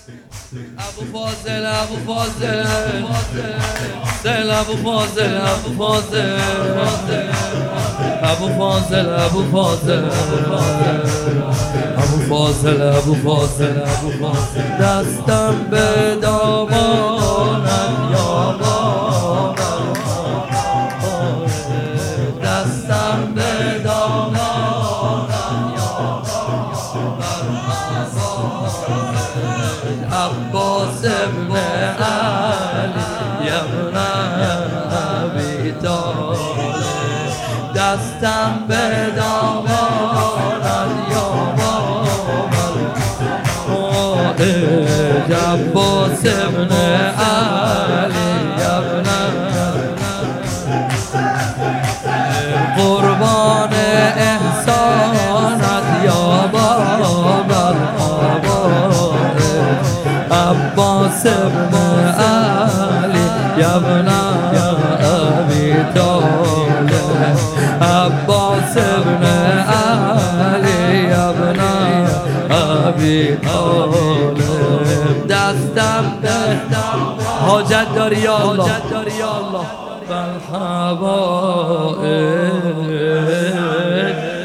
ابو فاضل ابو فاضل ابو فاضل ابو فاضل ابو فاضل ابو فاضل ابو فاضل ابو فاضل ابو فاضل دستم به دامانم یا بابا، دستم به دامانم یا عباس ابن علی ابن ابی طالب، دستم به دامانت یا بابا، عباس ابن علی ابن قربان احسانت یا بابا، عباس ابن علی ابن ابی طالب، عباس ابن علی ابن ابی طالب، دستم حاجت داری یا الله بالحوائج